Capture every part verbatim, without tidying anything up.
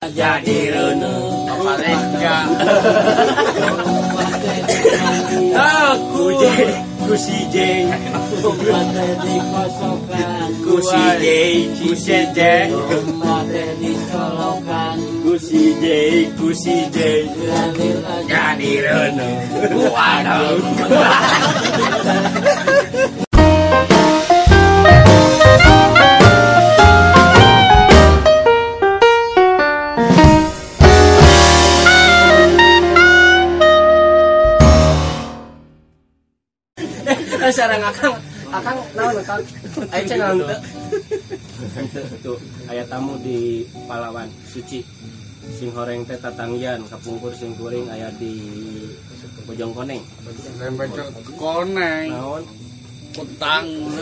jadi renung mereka aku kusi jeng kusi jeng kusi jeng kusi jeng kusi jeng jadi renung waduh. Sarang akang akang naon akang aya channel teu tuh aya tamu di Palawan Suci sing horeng teh tatanggian kapungkur sing kuring aya di Bojong Koneng Bojong Koneng naon utang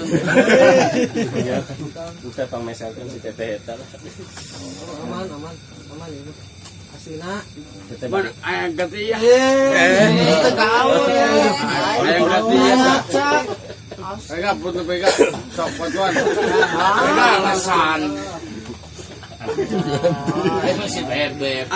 ya bisa pameselkeun si teteh eta aman aman aman ini asina ban aya gatiya eh itu kau ya aya gatiya Pega putu pega sok patuan pega alasan itu si bebek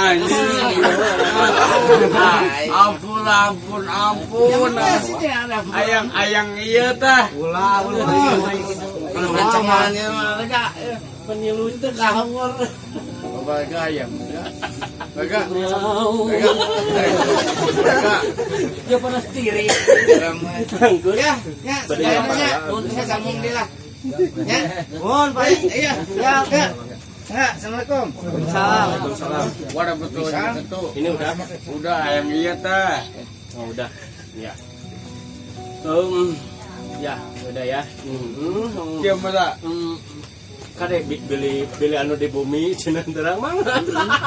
ampun ampun ampun ayang ayang iya tah ulah ulah kencangannya mereka penilu itu kahor Baga ayam Baga Baga Baga dia panas tiri ya ya sebenarnya saya sambung dia lah ya mohon Pak iya ya ya ya assalamualaikum Waalaikumsalam. Wadah betul betul Ini udah udah ayam iya tah oh udah ya um ya udah ya hmm dia mana kadek beli beli anu di bumi cenah terang mangga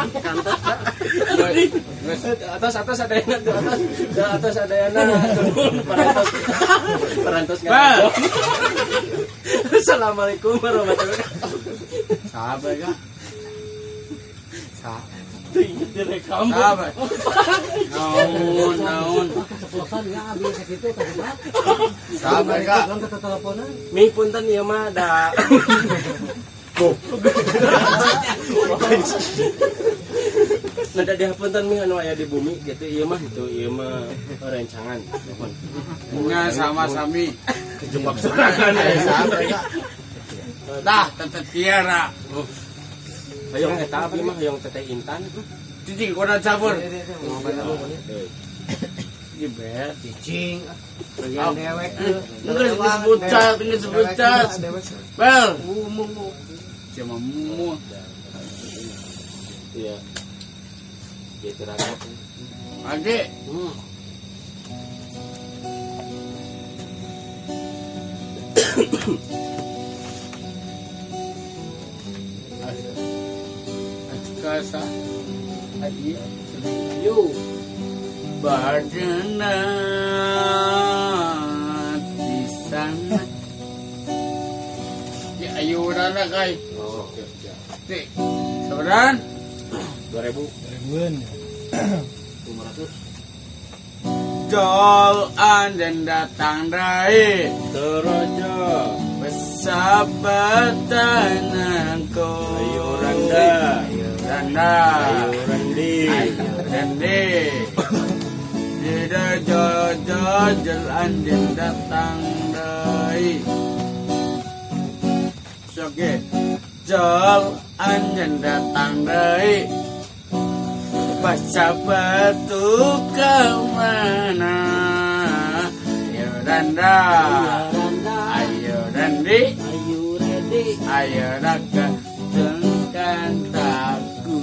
atas atas ada yang di atas di atas ada yang parantos parantos nggak Assalamualaikum warahmatullahi wabarakatuh sahabat ya sahabat ingat direkam sahabat naon naon pesan ya habis segitu kan sahabat ya kan ke teleponan mi punten ieu mah da Nada dia punten mi anu aya di bumi gitu ieu mah itu ieu mah rencangan mohon punya sama-sami kejebak serangan sahabat ya dah tetep tiara hayong eta abdi mah hayong teteh Intan cicing kona cabur jebet cicing bagian dewek enggak disebut cat enggak disebut cat bel umumu cuma mumu iya gitu rakyat lagi hmm kasa ayo yo badana di sana ya ayo udah kai oh oke siap tik sebenarnya dua ribu ribuan lima ratus jol anjen datang dari Torojo persahabatan aku ayo randa ayo randa ayo randi ayo randi tidak jol-jol anjen datang dari oke jol anjen datang dari persahabat tuh kemana ayo randa ayo randi ayu ready ayo raka dengan taku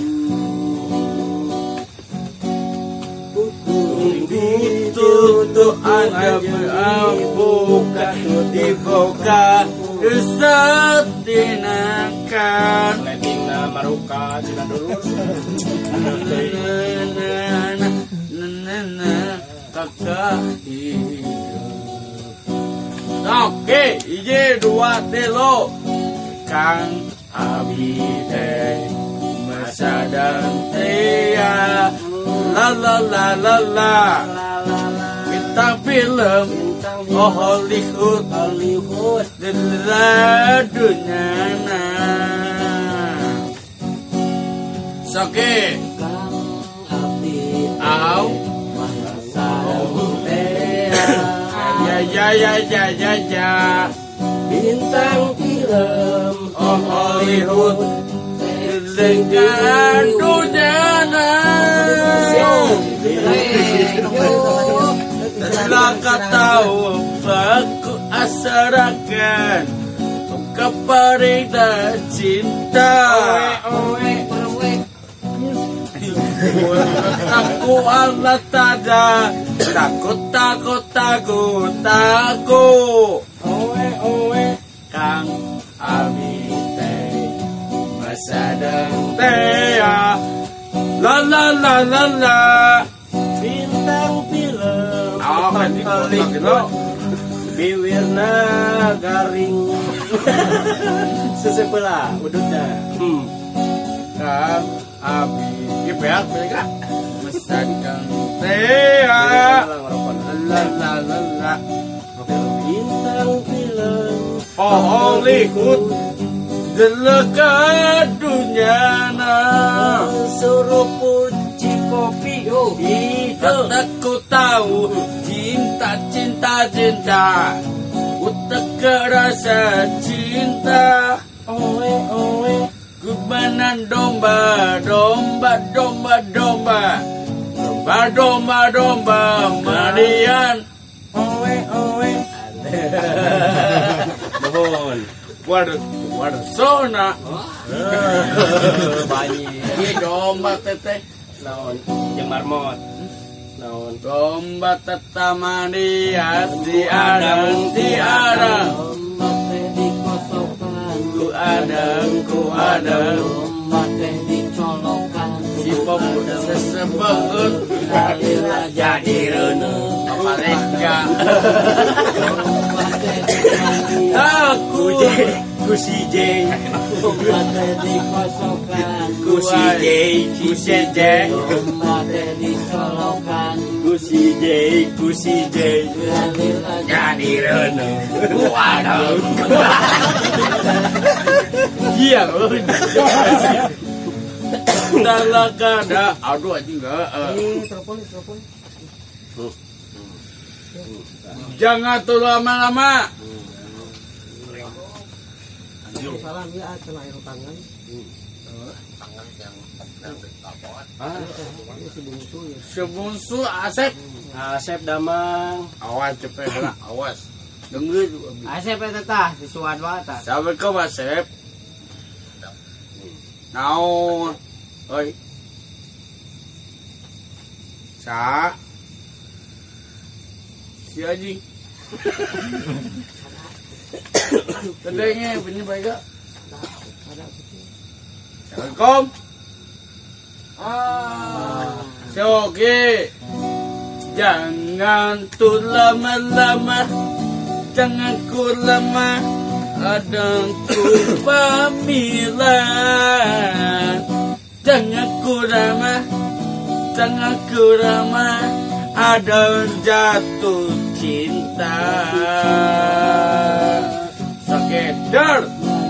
tutup aja buka dibuka setinakan letting na maruka cina dulu kakak hidup oke ije dua telo kang abi teh masa dan tia la la la la la kita film oh Hollywood Hollywood deladunya Soke. Kang abdi Au. sareng tea. Ya ya ya ya ya ya. Bintang film Oh Hollywood. Dengan dunia telah kau tahu aku asarakan kepada cinta. Aku Allah tada takut takut takut takut. Owe owe Kang Abi Sadang tea la la la la la Bintang film oh kan dipotong gitu bibirna garing sesebelah udutnya hmm Kang Abi ya beak beak Sadang tea la la la la bintang film oh Hollywood dekat dunia na suruh puji kopi yo. aku tahu cinta cinta cinta utak rasa cinta owe owe kubanan domba domba domba domba domba domba domba Marian owe owe mohon waduh waduh sona banyak ini domba teteh naon jeung marmot naon domba teteh Marian di adang di adang Ombak teh dikosongkan, ku adang ku adang ombak teh dicolokan. si pemuda sesebut Jadilah jadi reuneuh. apa reka Ombak teh dipanggil, aku ku si J ombak teh dikosongkan. ku si J ku si J Ombak teh dicolokan. ku si J ku si J Jadilah jadi reuneuh waduh iya dalam kada aduh anjing enggak jangan tuh lama-lama salam ya cenah air tangan. sebungsu Asep Asep Damang awas cepet lah awas dengar Asep eta tah disuan wae tah. Assalamualaikum Asep naon oi sa si anjing tadanya punya baik gak Assalamualaikum Ah. Oke, jangan tuh lama-lama, jangan ku lama, kadang ku pamilan. Jangan ku lama, jangan ku lama, ada jatuh cinta. Sekedar.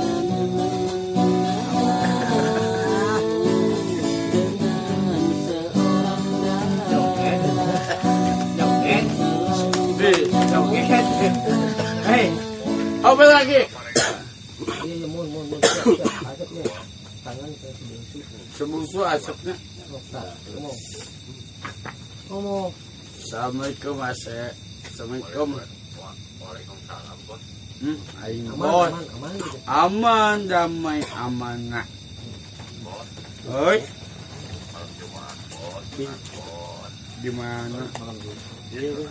hei Apa lagi? Iya mun mun mun asapnya. Tangan ke sebungsu. Sebungsu asapnya. Ngomong. Ngomong. Assalamualaikum Asep. Assalamualaikum. Waalaikumsalam bos. Hmm, aing Aman bos. aman aman gitu. Aman, damai, amanah. Oi, Malam Jumat bos. Bos. di mana? Bos.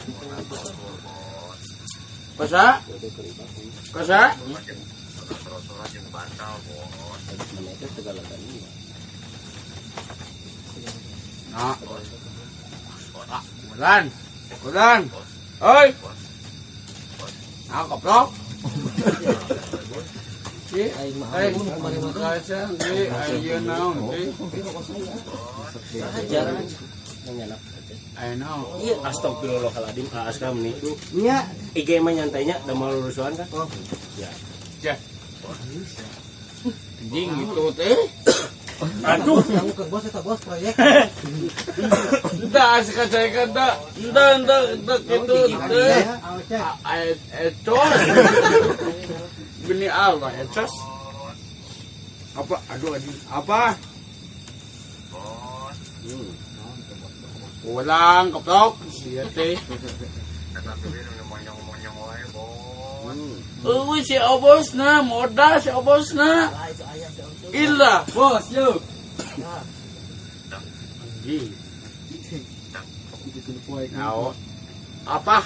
Kosa? Kosa? Terus-terusan jeung bantal bos. Nah. Ah, Kudan. Kudan. Oi. Ah, koplok. Si, Aing mah aing ampun kemarin mah teh. kaca, si, aing naon, si. ajar ngenyalak Aing naon. iya astagfirullahaladzim askam nih Nya. I G mah nyantainya udah mau lurusuan kan Ja. Anjing gitu teh. Aduh. Kamu ke bos atau bos proyek? Entah asik aja kan tak. Entah entah entah gitu. Ecos. Bini Allah ecos. Apa? Aduh aduh. Apa? Bos, Ulang keplok. Siya teh. katakan udah monyong-monyong wae, bos. Uwi si obos na, moda si obos na. Illa, bos yo. Anjing. Nao. Apa?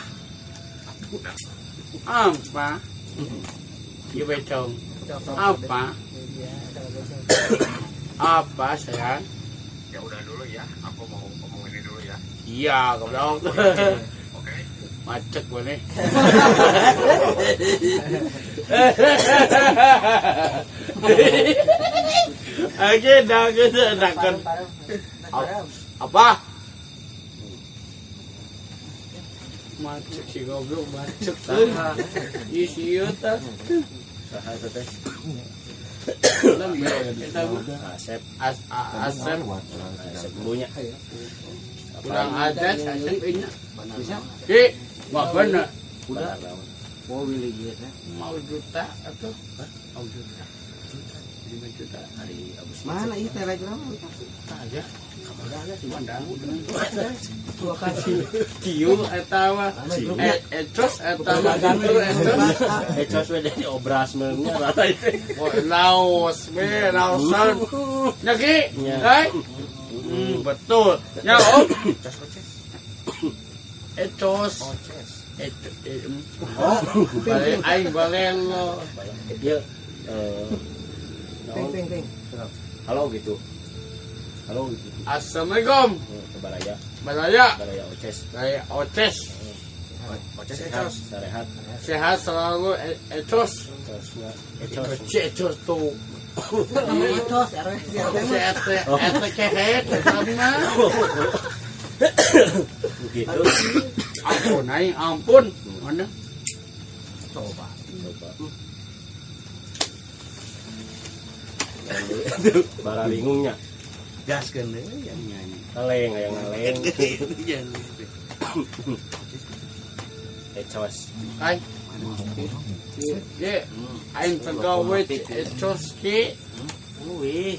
Apa? Iya becong. Apa? Apa sayang? Ya udah dulu ya, aku mau ngomong ini dulu ya. Iya, goblok. Oke? Macet gue nih. Oke, dah gitu, dah kan. Apa? Macet si goblok, macet tuh. Isi yuta. Saha itu teh? Lembe, kita Asep, as asep Asep dulunya. kurang aja asep ini. Bisa? Ki, wah bener. Udah. Oh, Willy gitu. Mau juta atau mau juta? Lima juta. Hari abis Mana ini telegram? Aja. Ada sih. Mandang. Dua kali. Kiu etawa. Eh, ecos etawa gantur ecos. Ecos we dari obras mennya rata itu. Oh, laos, be, laosan. Nyaki, Nya. hai? Hmm, betul. Ya, Om. Ecos. Ecos. Balik aing balelo. Dia eh Ting ting ting. halo gitu. Halo gitu. Assalamualaikum. Ke Balaya, Balaya. Balaya Oces. Saya Oces. Oces sehat, sarehat. Sehat selalu E- Ecos. Ecosnya Ecos. Si Ecos tuh. Itu sekarang Si Ete, Ete kehet, sama. Begitu. Ampun, aing ampun. Mana? Coba. Coba. Bara bingungnya. Gaskeun deui yang nyanyi. Ngaleng, aya ngaleng. Ecos. Ay. Ye, aing pegawai di Ecos ki. Wih,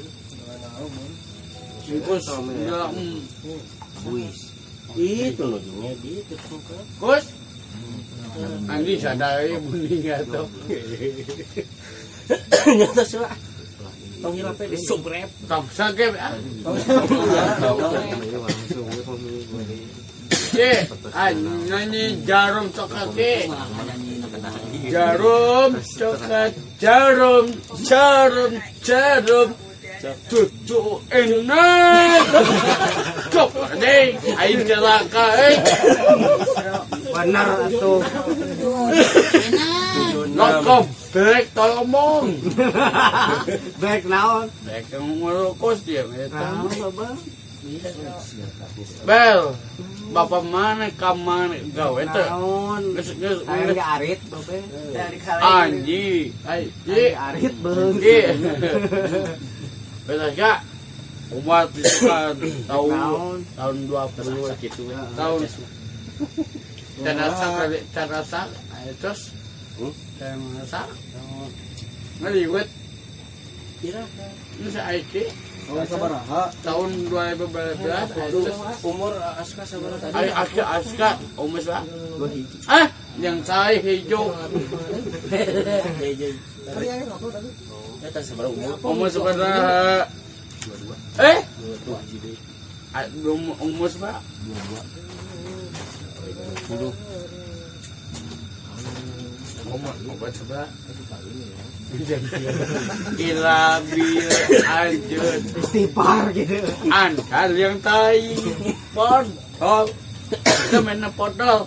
Kus, ya, mm. Wis. Itu nujunya gitu kan. Kus. Andi sadari bunyi atau Nyata sih lah. Tong hilap di subrep. tak sakit ah. Ye, nyanyi jarum coklat ki. Jarum coklat, jarum, jarum, jarum. Cucu enak. Kop deh, aing celaka eh. benar atuh. Lokom, bek tolong. Baik naon? Bek yang ngerokos dia eta. Naon Bang? Bel, bapak mana kamar gawe teh? Naon? Geus geus Hayang di arit, Bapak. Dari anji, ai, ji, arit beung. ji. Betul gak? Umat itu kan tahun Naon? tahun dua puluh Gitu ya. tahun terasa kali terasa terus Hmm? terasa ngeliwet Kira ini saya Aiki Oh, sabaraha? tahun dua ribu dua belas terus umur Aska sabar tadi. Ay, Aska Aska umus lah ah yang saya hijau Hehehe. Eta sabar umur. umus pada eh Dua jadi ah, um- umus pak puluh. umus obat sebelah ila bil anjut Istighfar gitu. angkal yang tai podol kita main podol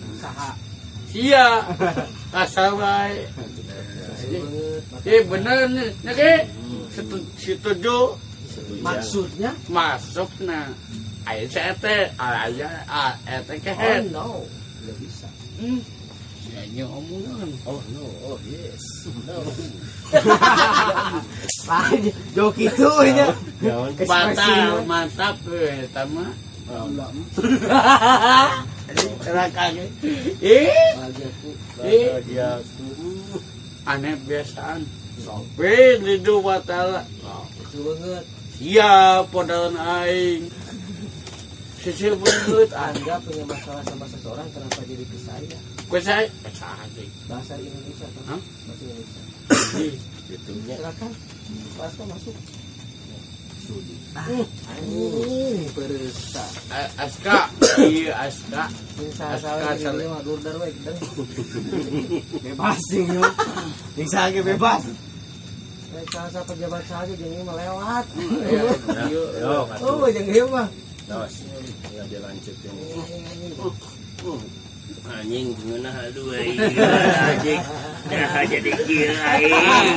sia kasar bae eh bener nih nake setuju Maksudnya? masuk nah ayo saya teh aya ah ete kehet no. Enggak bisa. hmm Nyanyi omongan. Oh no, oh yes. No. Joki itu nya. Jangan Batal mantap we tama. Rakane. Eh, Bahagiaku. eh dia aneh biasaan. Sampai lidu batala. Itu banget. Siap podalan aing. Sisil banget Anda punya masalah sama seseorang, kenapa jadi ke saya? Gue saya saja. Bahasa Indonesia atau Hah? bahasa Indonesia? itunya. Silakan. Bahasa masuk. Anjing, peresta. Aska, iya Aska. Sing salah Aska, ini mah durdar we kita. Bebas sing yo. Sing sage bebas. Eh salah pejabat saja jeung ieu mah lewat. Yo, Oh, jeung ieu mah. terus ya dilanjutin. Anjing gimana aduh anjing. Dah jadi gila aing.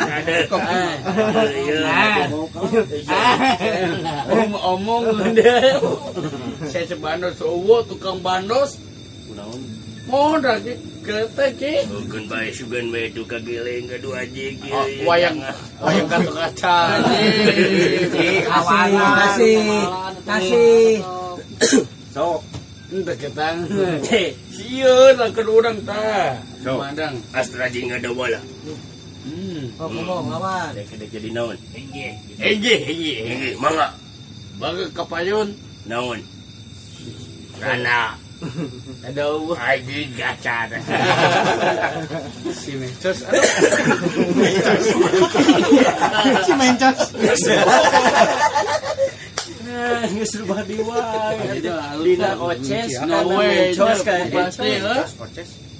Omong-omong deh. Saya sebandos owo tukang bandos. Kunaon? Modal ki kereta ki. Bukan bae sugan bae tu kageleng kedua anjing. Oh, wayang wayang kaca-kaca. Kasih, kasih, kasih. Sok. Entah ketang. Sieun lah kedurang tah. So. Mandang. Astra jeung ada bola. Hmm. Oh, ngomong lawan. Dek-dek jadi naon? Enje. Enje, enje. Enje mangga. Baga kapayun. Naon? Rana. Aduh. Anjing gaca. Si Mencos. Aduh. Si mencos. Nah, geus rubah di wae. Aduh, Lina oces, No kana way. mencos kayak Pasti, encos. eh. Oces.